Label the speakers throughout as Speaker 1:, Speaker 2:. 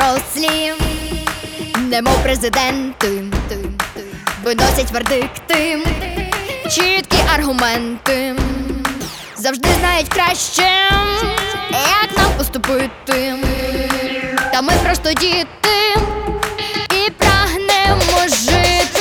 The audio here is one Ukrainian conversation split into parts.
Speaker 1: дорослі, немов президенти, виносять вердикти, чіткі аргументи, завжди знають краще, як нам поступити. Та ми просто діти і прагнемо жити.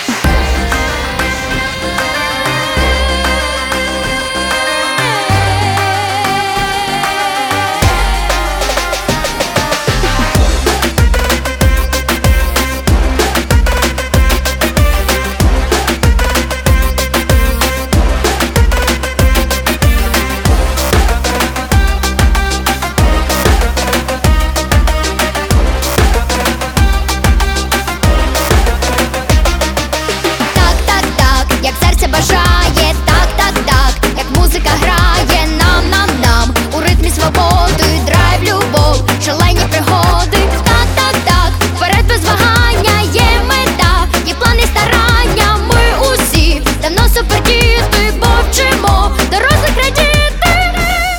Speaker 1: Бажає, так, як музика грає нам, у ритмі свободи, драйв, любов, шалені пригоди. Так, вперед без вагання, є мета, є плани, старання. Ми усі давно супердіти, бо вчимо дорослих радіти.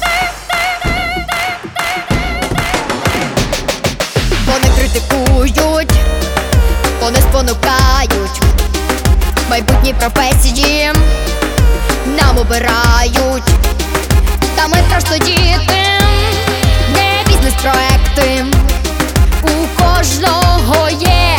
Speaker 1: Вони критикують, вони спонукають, майбутні професії нам обирають. Та ми просто діти, не бізнес-проекти. У кожного є